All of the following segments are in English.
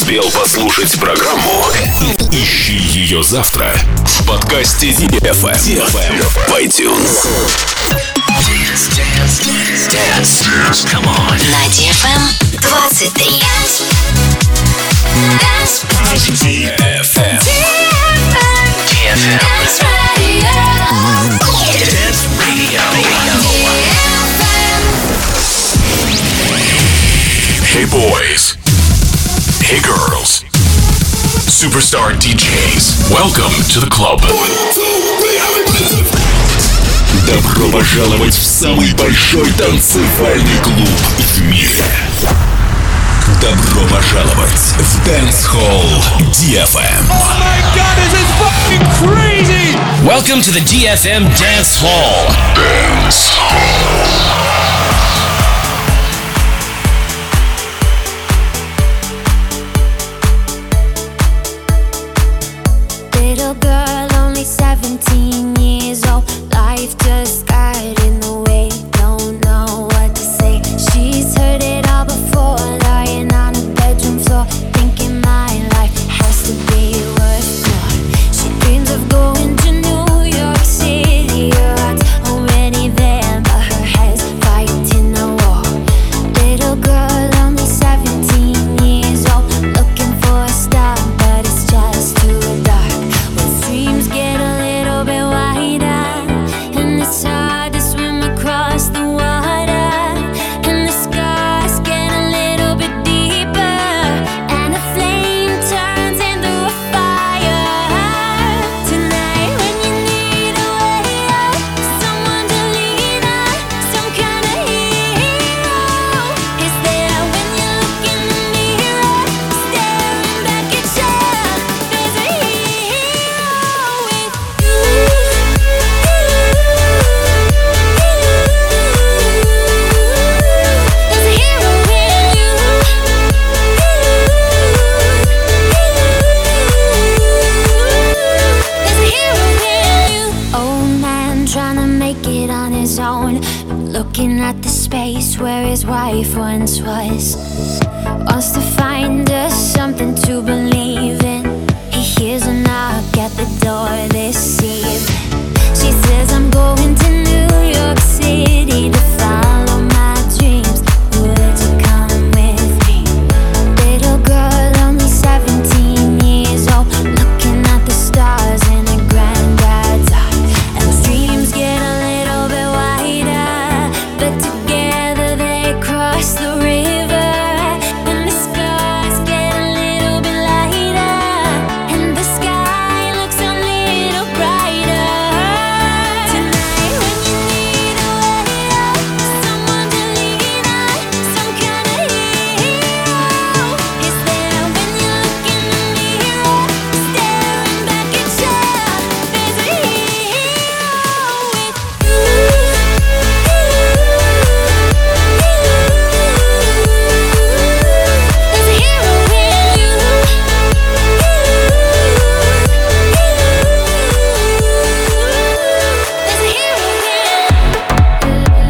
успел послушать программу? Ищи ее завтра в подкасте DFM в iTunes. Dance. Come on. На DFM 23. DFM. Dance Radio. Hey boys. Hey girls. Superstar DJs. Welcome to the club. Добро пожаловать в самый большой танцевальный клуб в мире. Добро пожаловать в Dance Hall DFM. Oh my God, this is fucking crazy! Welcome to the DFM Dance Hall. Dance Hall. Little girl, only 17 years old. Life just got in the way. Don't know what to say. She's heard it all before. Lying on a bedroom floor, thinking my life has to be worth more. She dreams of going to New York City. Her heart's already there, but her head's fighting the war. Little girl, only 17 years old, looking for a star, but it's just too dark. Dreams get a little bit wider, and it's hard to swim across the water, and the scars get a little bit deeper, and the flame turns into a fire. Tonight when you need a way out, someone to lean on, some kind of hero is there when you look in the mirror, staring back at you. There's a hero with you. There's a hero in you. There's a hero in you. Old man trying to make it on his own, looking at the space where his wife once was. Wants to find us something to believe in. He hears a knock at the door this evening. She says, I'm going to New York City to follow my dreams. Would you come with me? Little girl, only 17 years old, looking at the stars in her granddad's art. And those dreams get a little bit wider, but together they cross the river, and the scars get a little bit lighter, and the sky looks a little brighter. Tonight when you need a way out, someone to lean on, some kind of hero is there when you look in the mirror, staring back at you. There's a hero with you. There's a hero in you. There's a hero in you.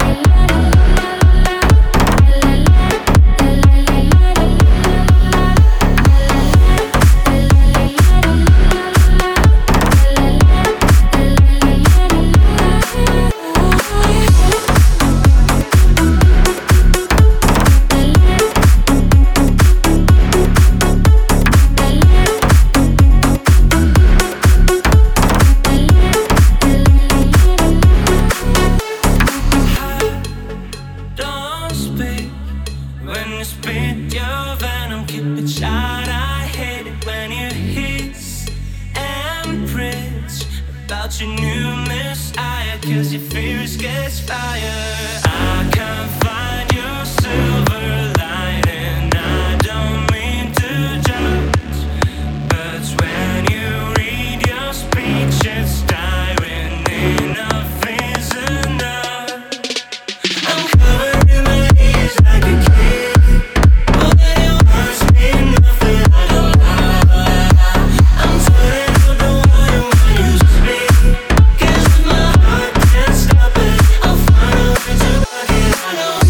Don't speak when you spit your venom. Keep it shut. I hate it when you hiss and preach about your new messiah, 'cause your fears gets fire. I can't find your silver lining. I don't mean to judge, but when you read your speech, it's tiring. Enough is enough. I'm covered in my knees like a kid. Oh, but it wants me nothing I don't love. I'm turning up the volume when you speak, 'cause if my heart can't stop it, I'll find a way to block it. I know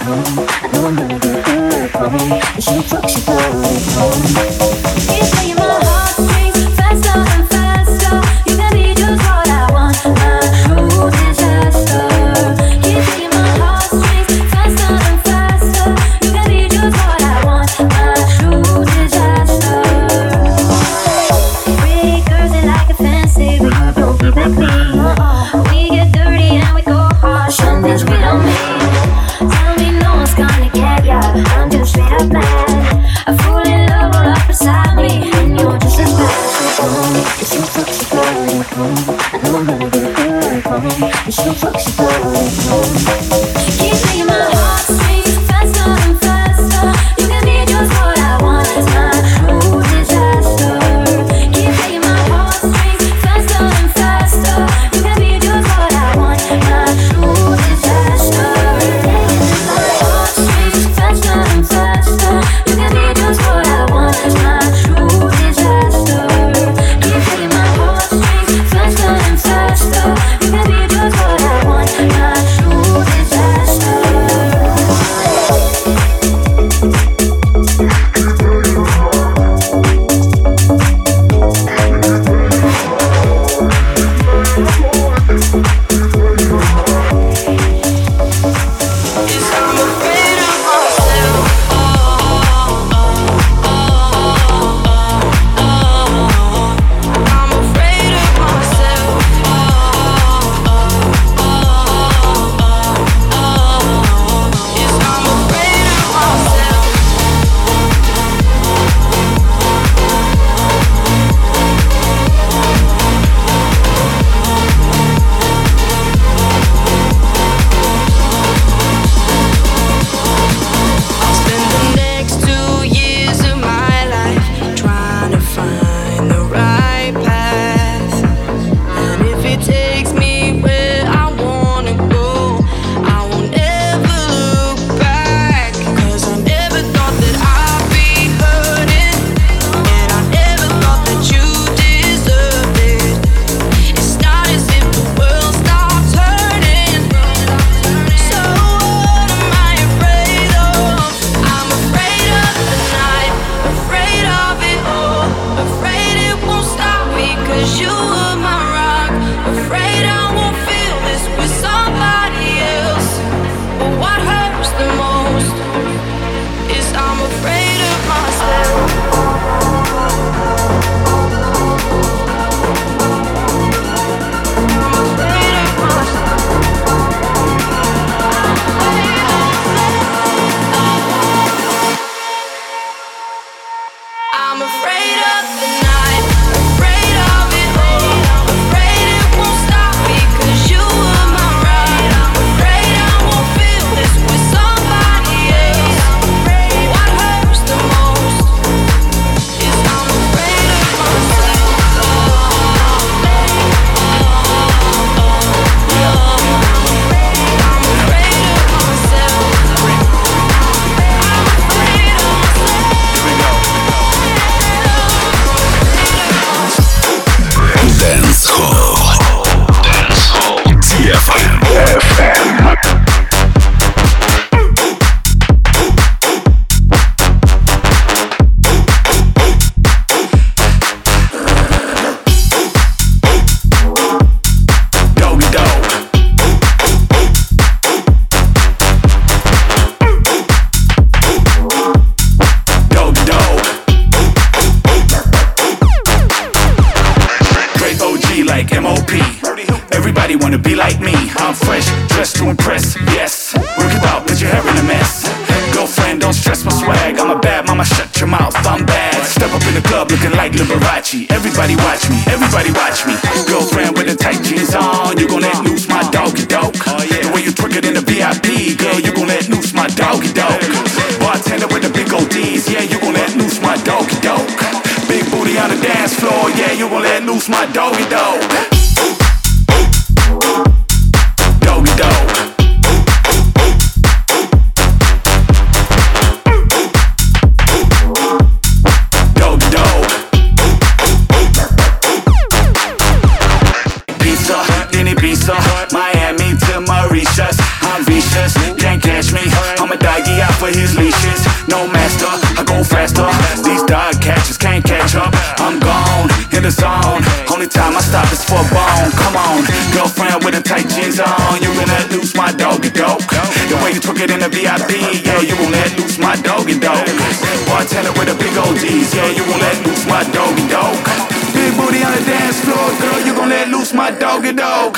Everybody watch me, everybody watch me. Girlfriend with the tight jeans on, you gon' let loose my doggy dog. The way you twerk it in the VIP, girl, you gon' let loose my doggy dog. Bartender with the big ODs, yeah, you gon' let loose my doggy dog. Big booty on the dance floor, yeah, you gon' let loose my doggy dog. Doggy dog. Miami to Mauritius, I'm vicious, can't catch me. I'm a doggy out for his leashes. No master, I go faster. These dog catchers can't catch up. I'm gone, in the zone. Only time I stop is for a bone. Come on, girlfriend with the tight jeans on. You gon' let loose my doggy dog. The way you took it in the VIP, yeah, you gon' let loose my doggy dog. Bartender with the big OGs, yeah, you gon' let loose my doggy dog. Big booty on the dance floor, girl, you gon' let loose my doggy dog.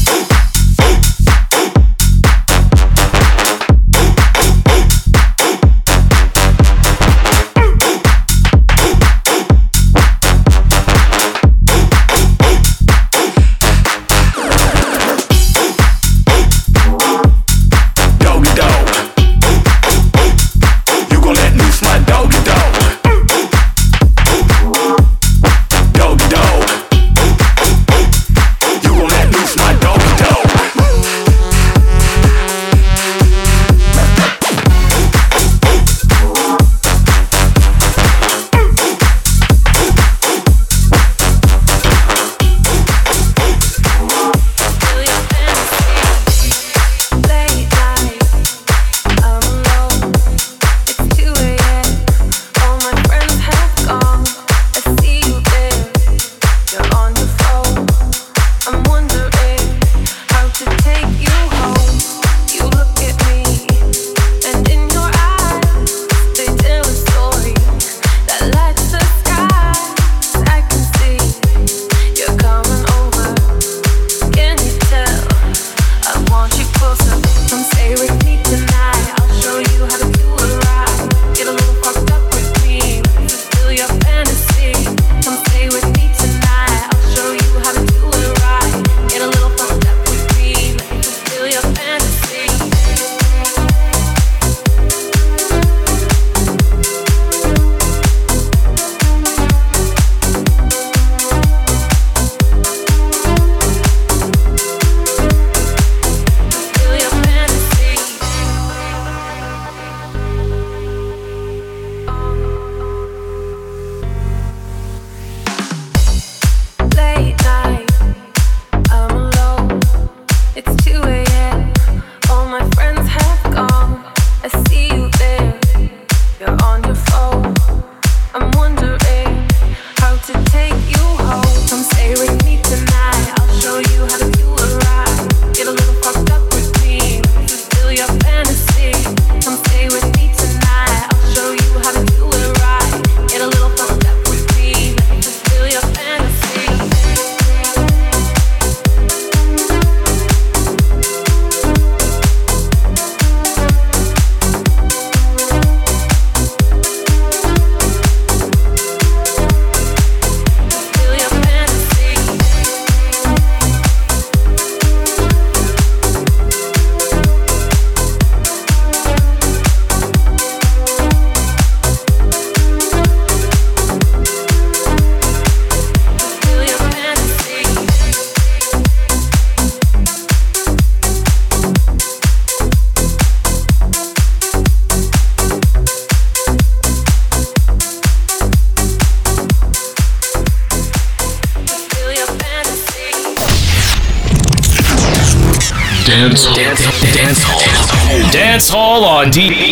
Dance Hall on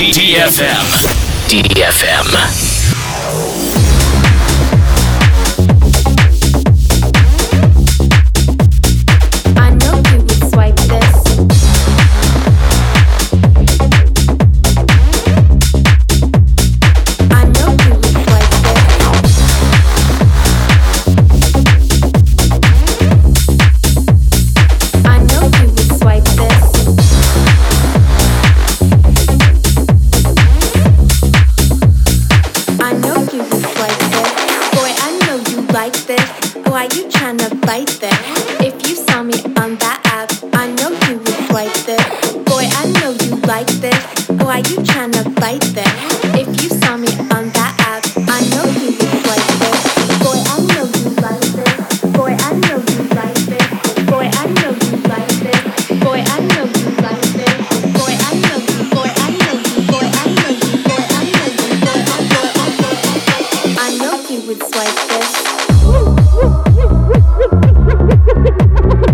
DFM. DFM.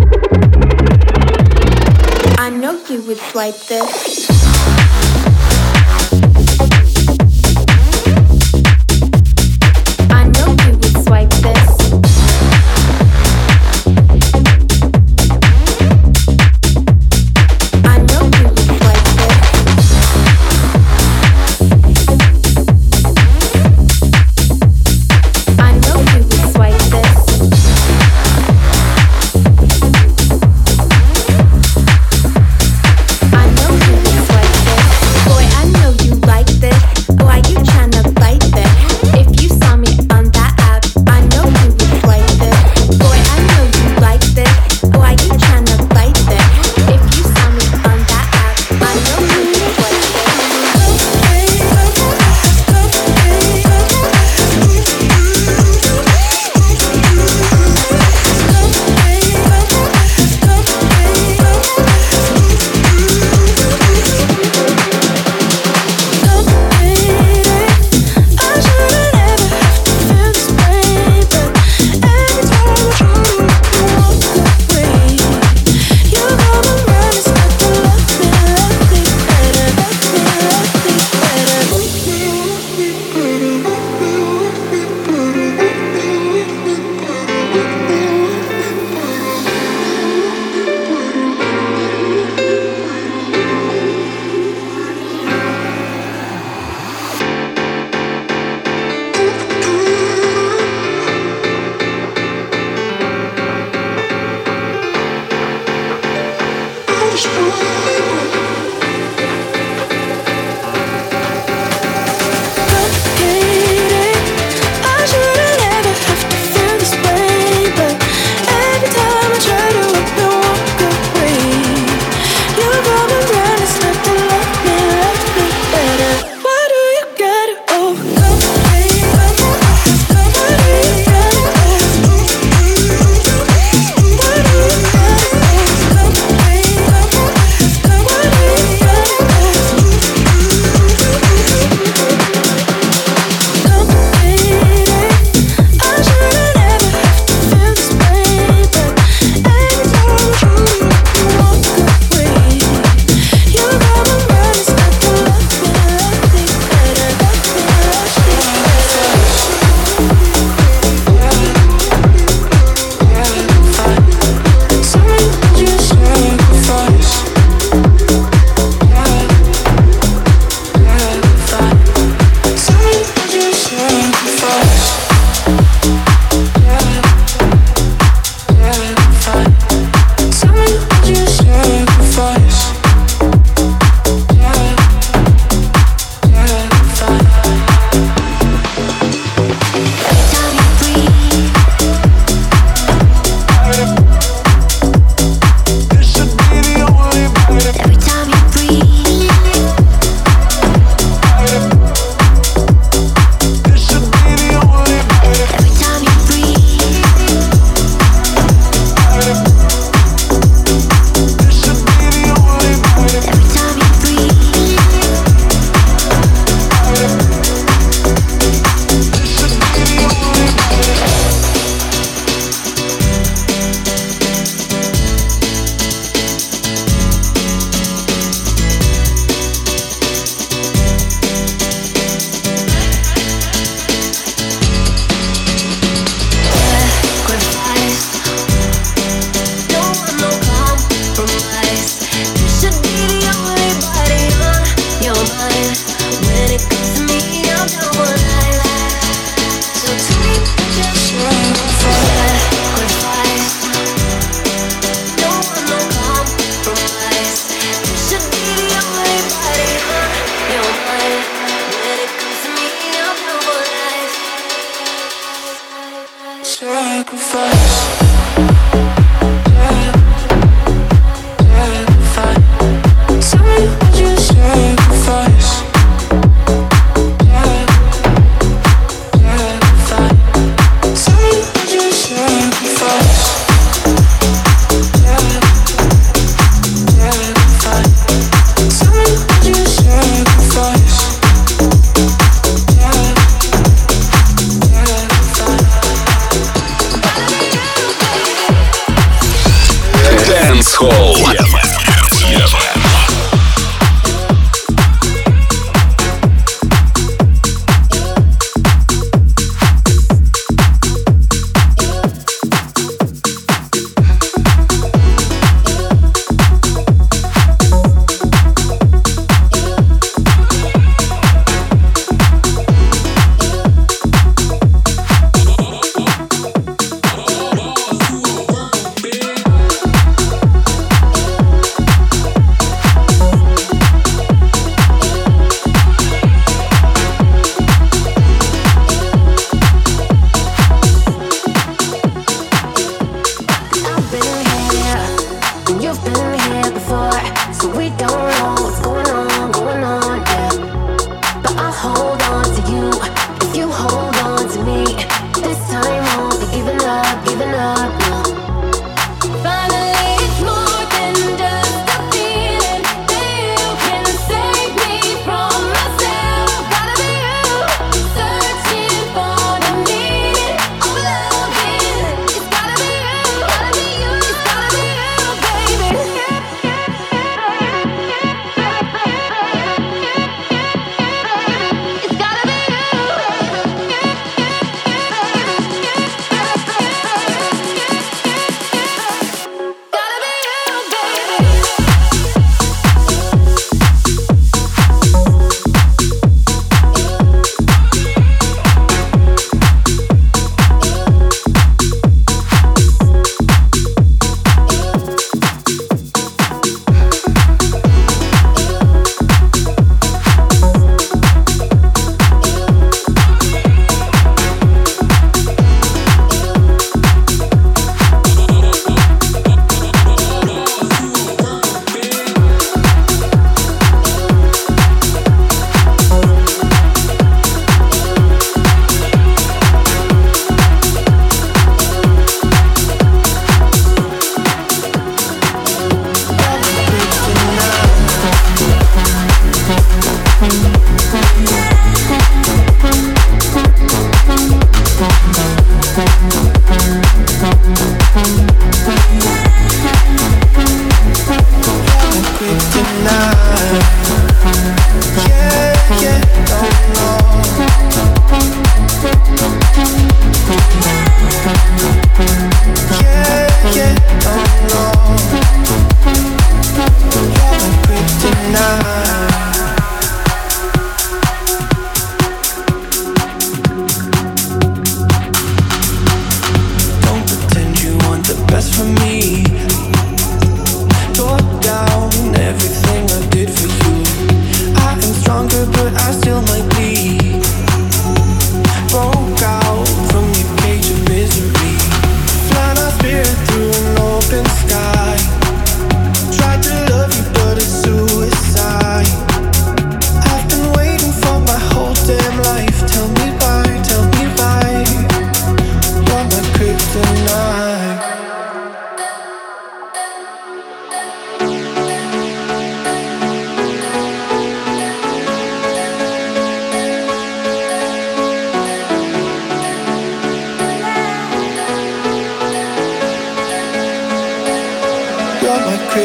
Like this.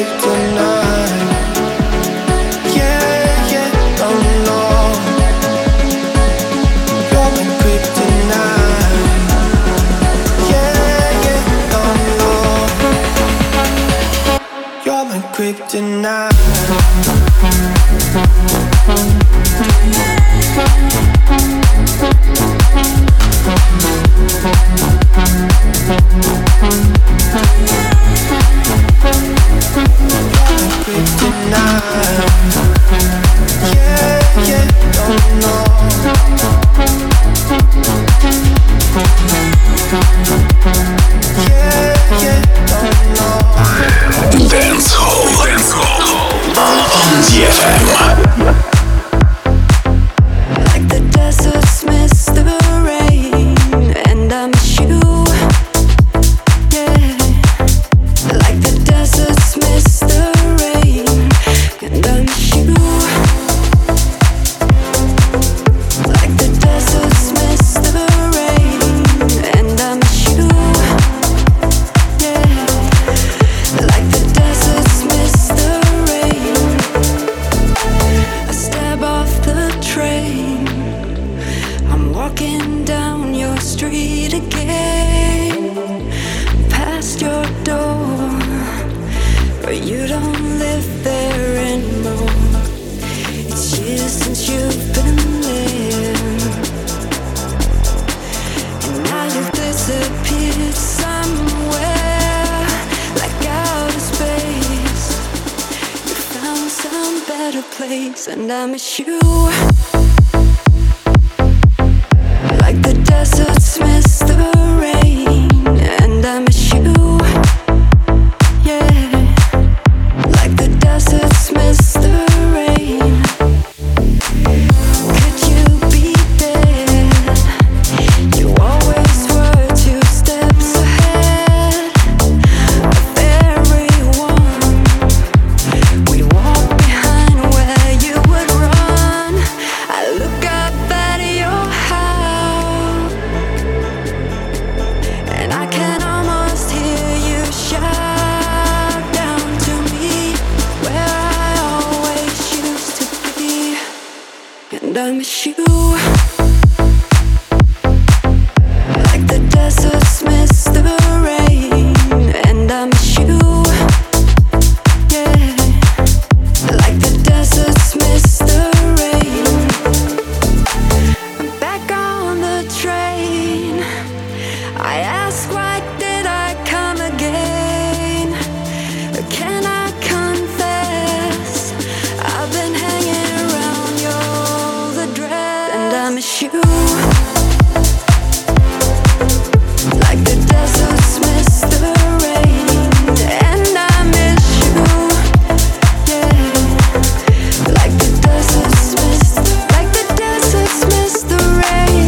kryptonite. Yeah, yeah, oh no. You're my kryptonite. Yeah, yeah, oh no. You're my kryptonite. Dance Hall on DFM. Like the deserts miss the rain, and I miss you. Yeah, like the deserts miss the rain, and I miss you. Like the deserts miss the rain, and I miss you. Yeah, like the deserts miss the rain. I step off the train. I'm walking down your street again, past your door, but you don't live there anymore. It's years since you've been there, and now you've disappeared somewhere, like outer space. You found some better place, and I miss you. Like the deserts miss the rain, and I miss you. Yeah, like the deserts miss the rain. Could you be there? You always were 2 steps ahead of everyone. We walk behind where you would run. I look up at your house, and I can almost hear you shout down to me, where I always used to be, and I miss you. Like the deserts miss the rain, and I miss you. Yeah, like the deserts miss the rain. I'm back on the train. I ask, why did I come again? Can I confess? I've been hanging around your address, and I miss you. Like the deserts miss the rain, and I miss you. Yeah, like the deserts miss, like the deserts miss the rain.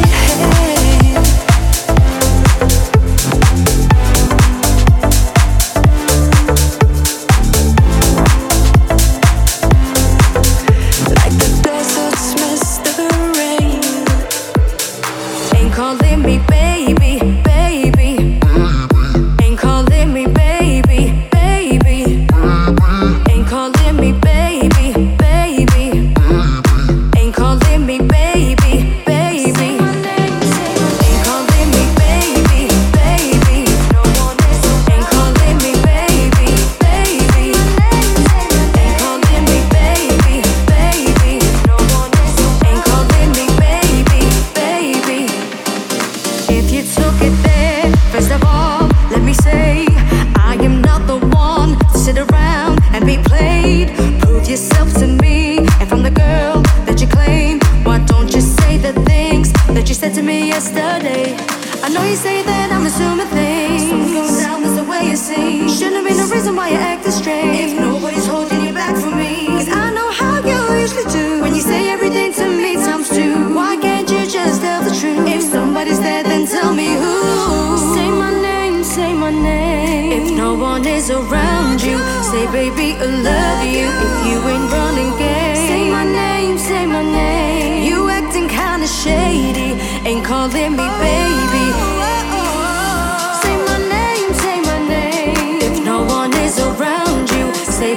Like the deserts miss the rain. Ain't calling me baby, baby. Ain't calling me baby, baby. Ain't calling me baby, baby. Ain't calling me baby, baby. Ain't calling me baby, baby. Ain't calling me baby, baby. Ain't calling me baby, baby. Ain't calling me baby, baby. If you took it there, first of all, let me say I am not the one to sit around and be played. Prove yourself to me, and from the girl that you claim, why don't you say the things that you said to me yesterday? I know you say that I'm assuming things. Something's going down, that's the way you see. Shouldn't have been the reason why you acted strange. If nobody's holding you back from me, 'cause I know how you usually do. When you say everything to me times 2, why can't you just tell the truth? If somebody's there, then tell me who. Say my name, say my name. If no one is around you, say baby I love you. If you ain't running game, say my name, say my name. You acting kinda shady, ain't calling me baby. Say my name, say my name. If no one is around you, say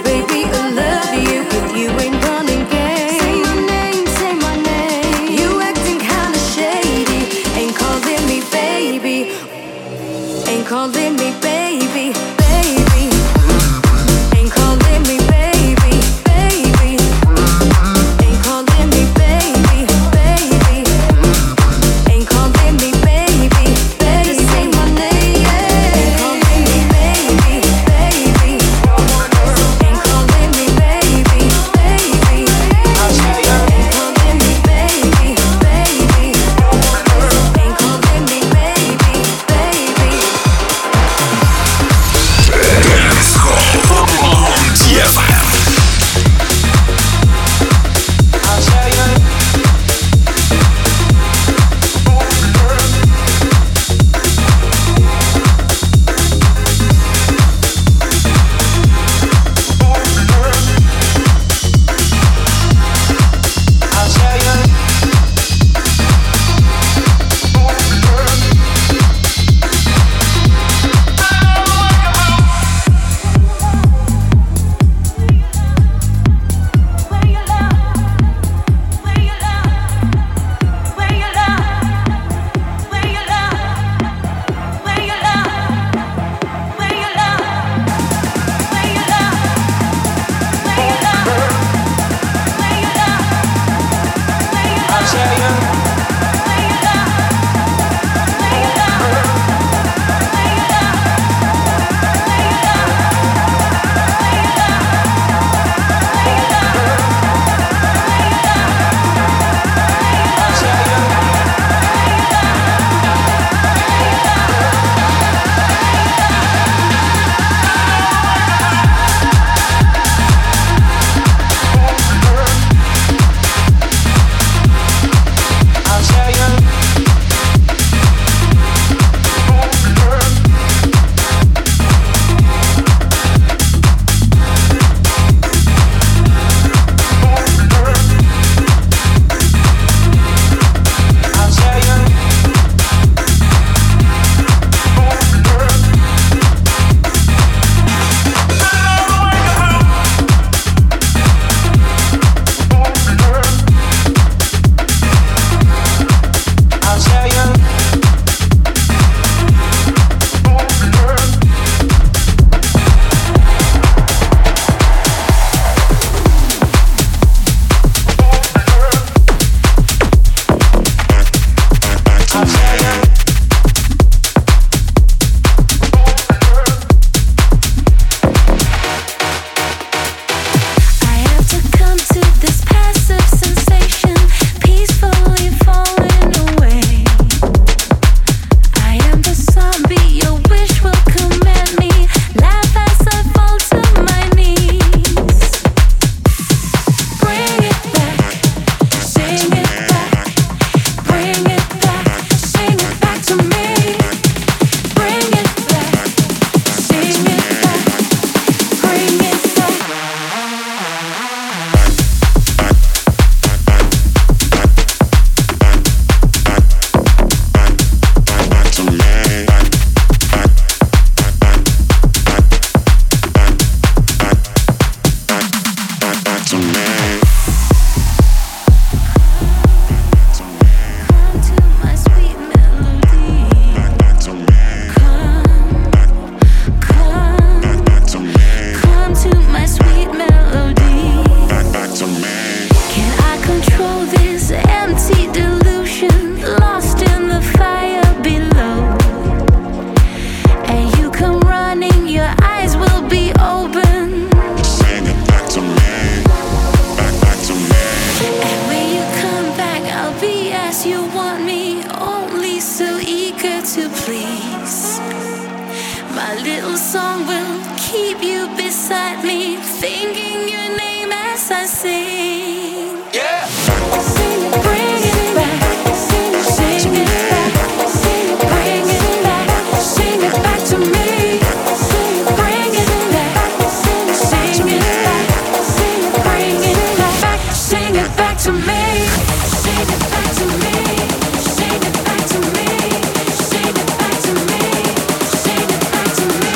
song will keep you beside me, thinking your name as I sing. Yeah. Sing it, bring it back. Sing it back. Sing it, bring it back. Sing it back to me. Sing it, bring it back. Sing it back. Sing it, bring it back. Sing it back to me. Sing it back to me. Sing it back to me. Sing it back to me. Sing it back to me.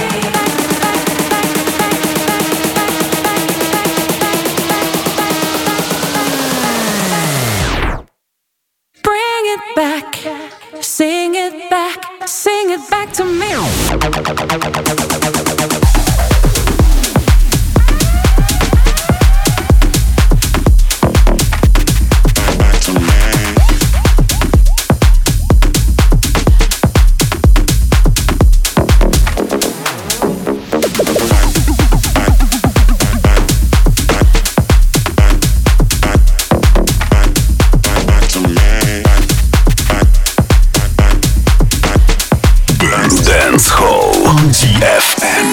Bring it back. Sing it back. Sing it back to me. Dance Hall on DFM.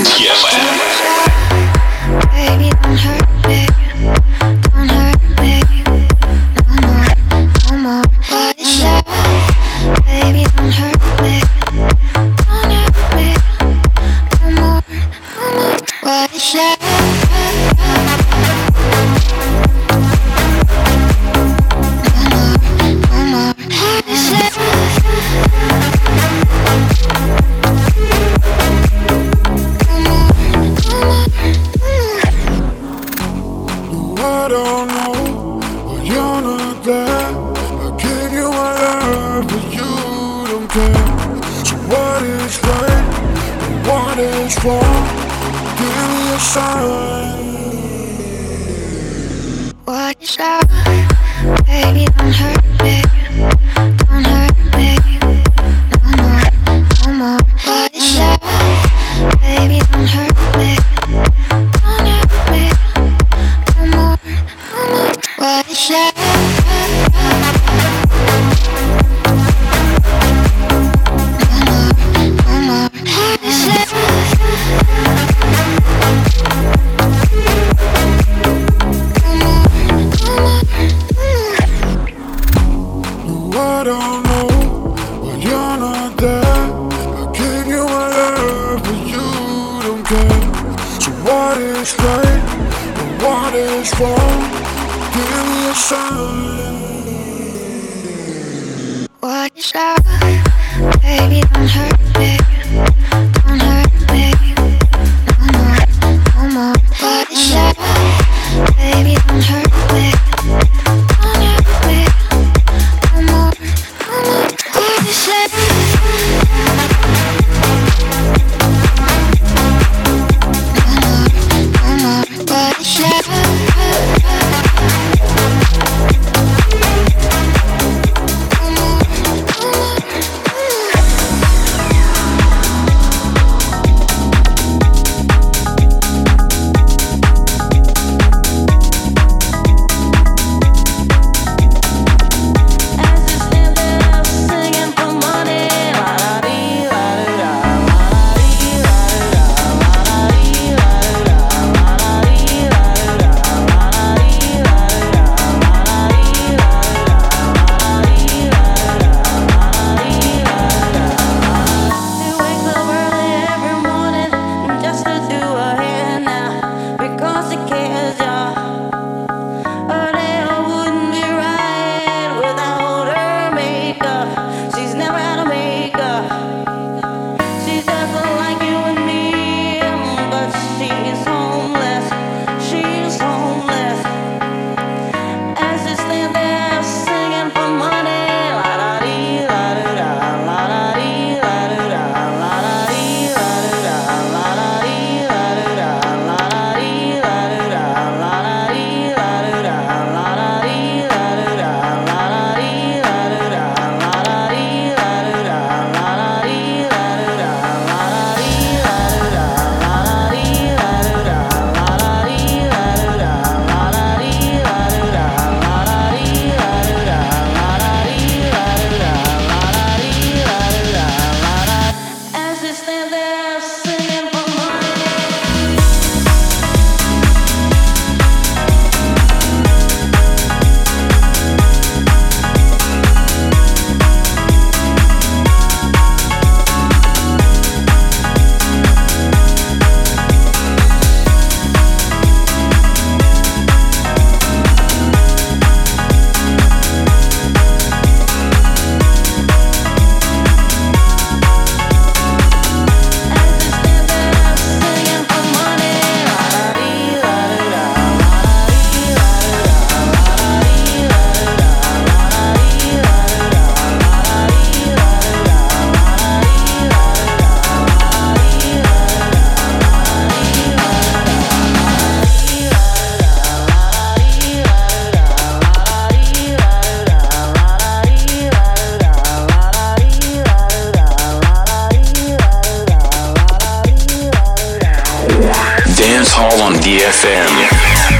Baby, don't hurt me. Don't hurt me. No more, no more. What is that? Baby, don't hurt me. Don't hurt me. No more, no more. What is that? No more, no more. What is that? I don't know, but you're not there. I gave you my love, but you don't care. So what is right and what is wrong? Give me a sign. What is that? Baby, don't hurt me. Don't hurt me. No more, no more. What is that? Baby, don't hurt me. Don't hurt me. No more, no more. What is that? No more, no more. What is that? I don't know, but you're not there. I gave you my love, but you don't care. So what is right and what is wrong? Give me a sign. What is that? Baby, don't hurt me. Don't hurt me. No more, no more. What is that? Baby, don't hurt me. Don't hurt me. No more, no more. What is that? No more, no more. What is that? DFM.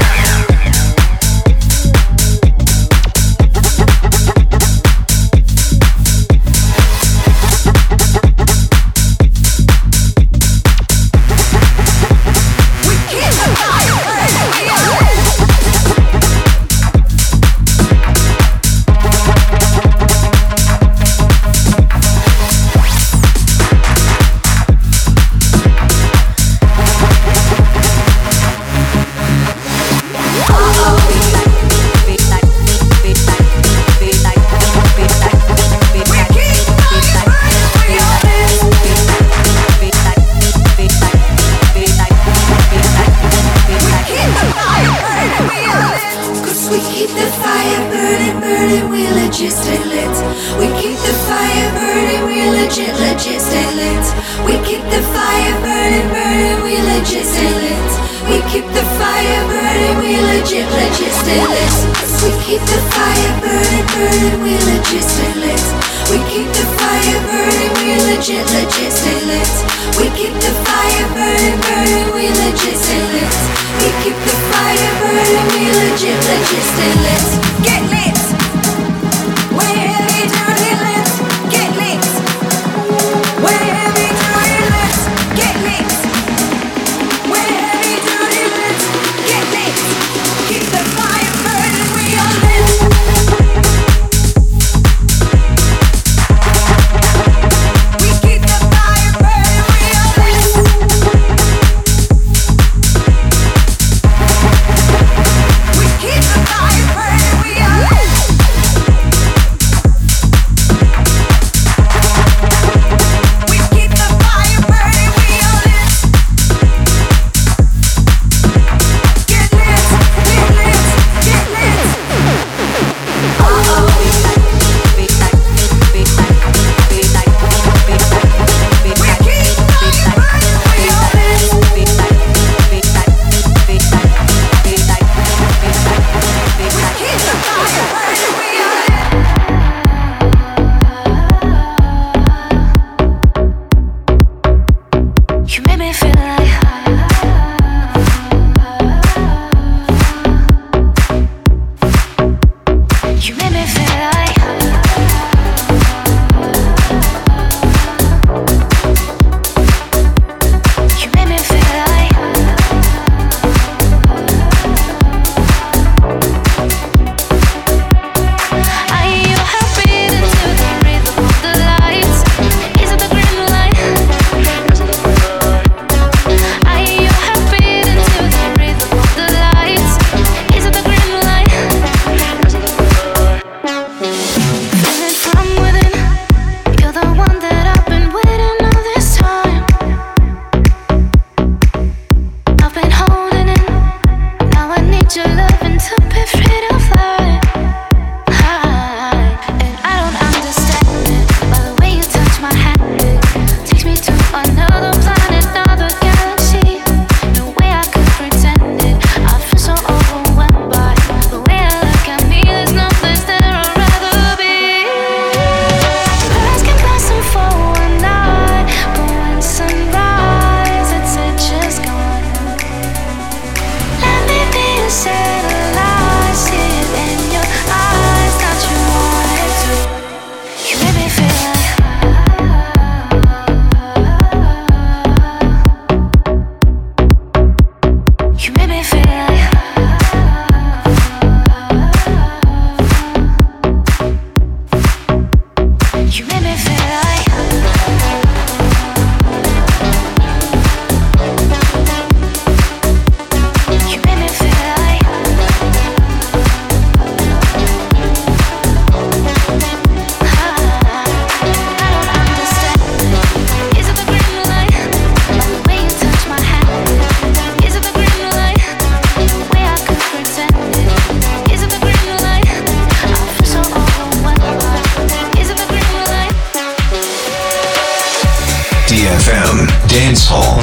DFM Dance Hall.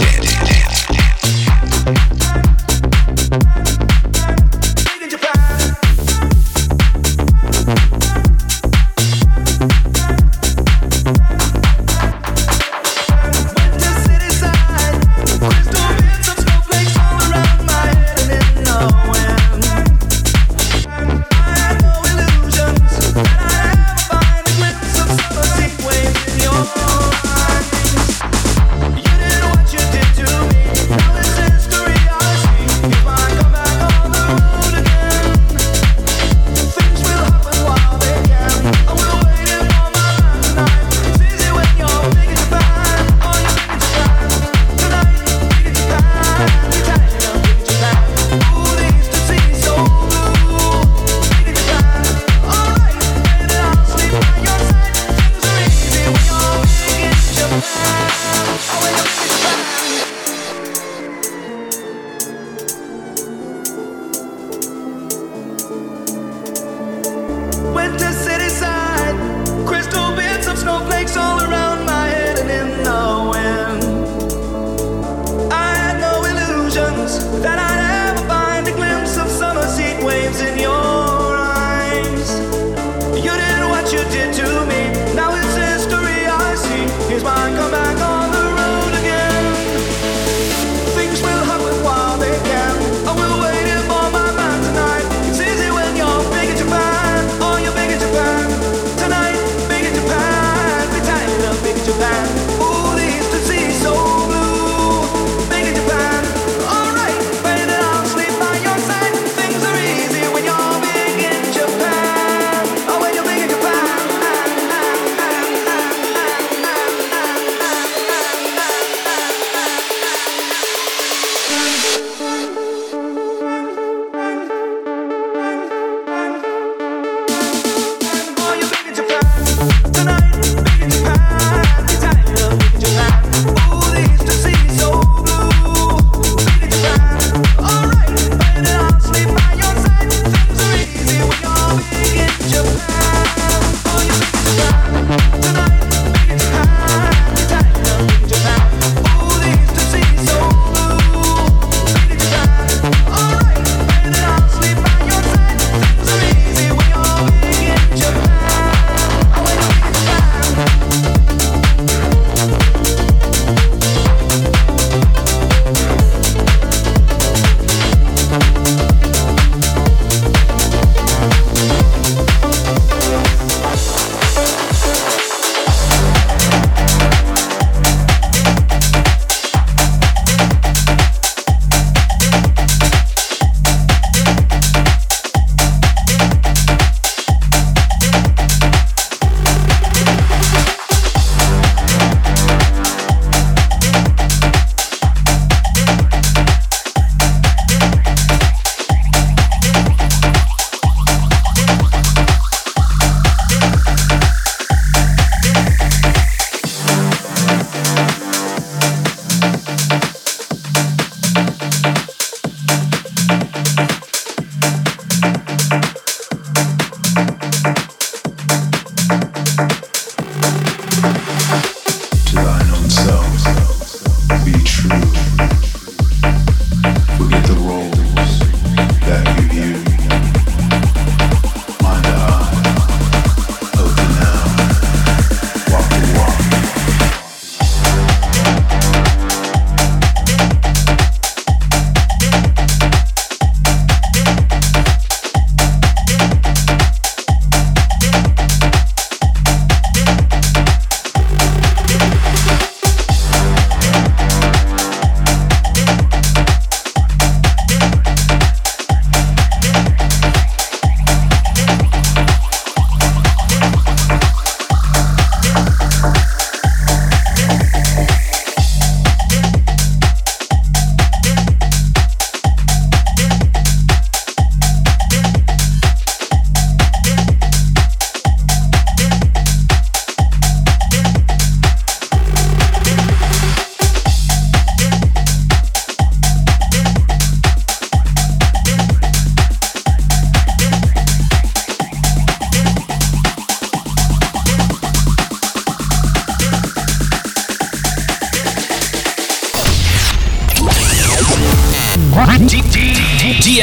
Crystal bits of snowflakes all around my head.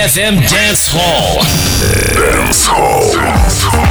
DFM Dance Hall. Dance Hall.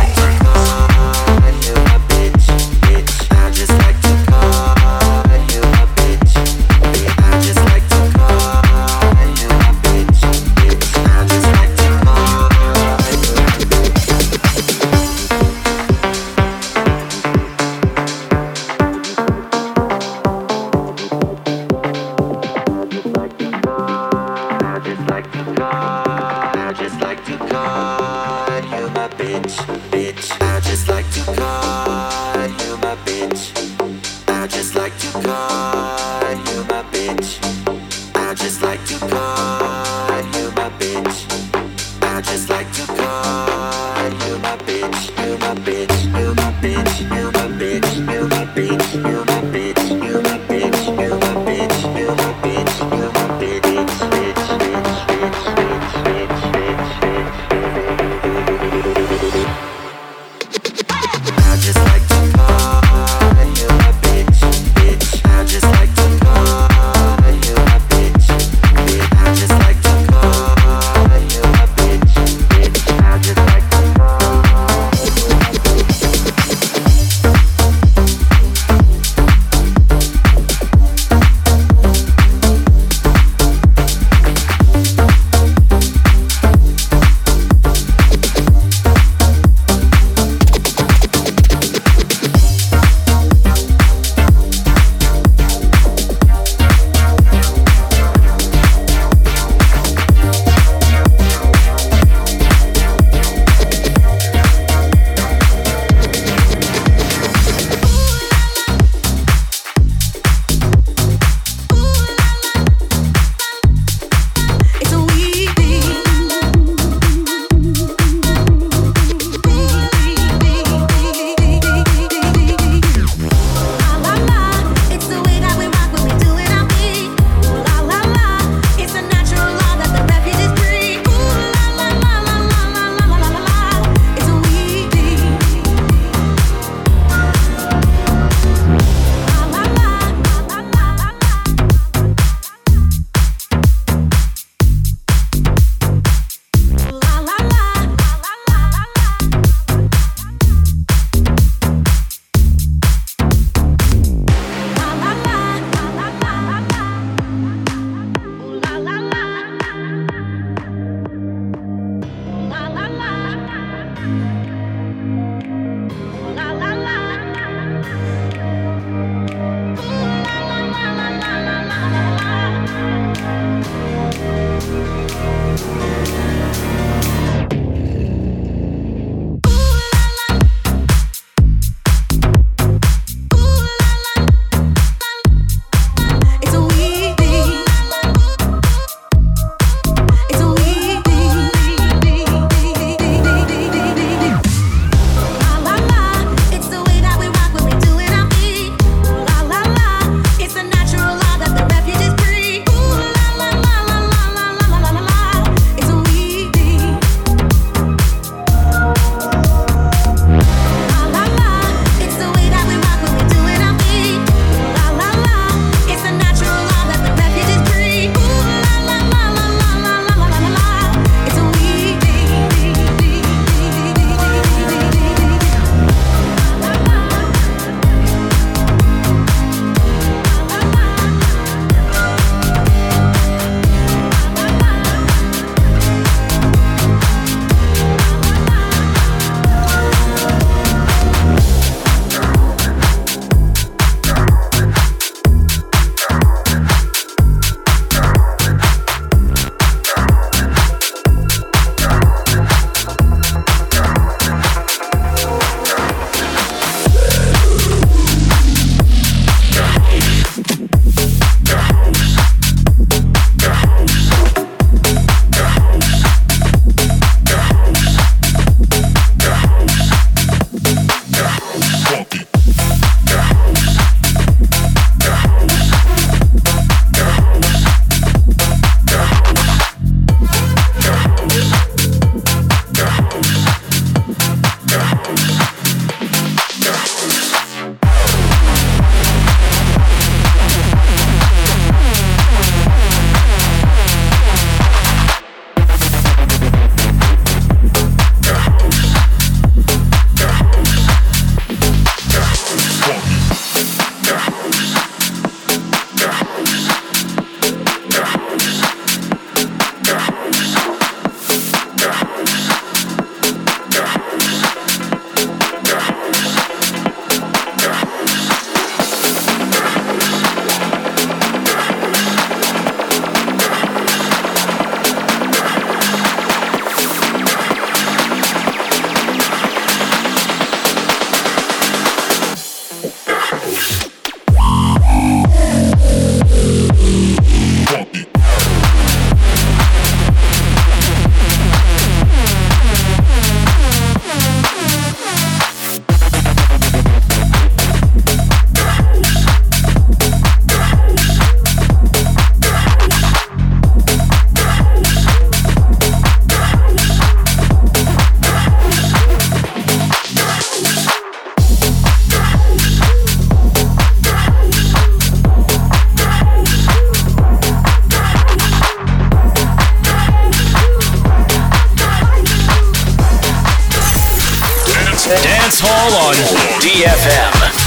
Dance Hall on DFM.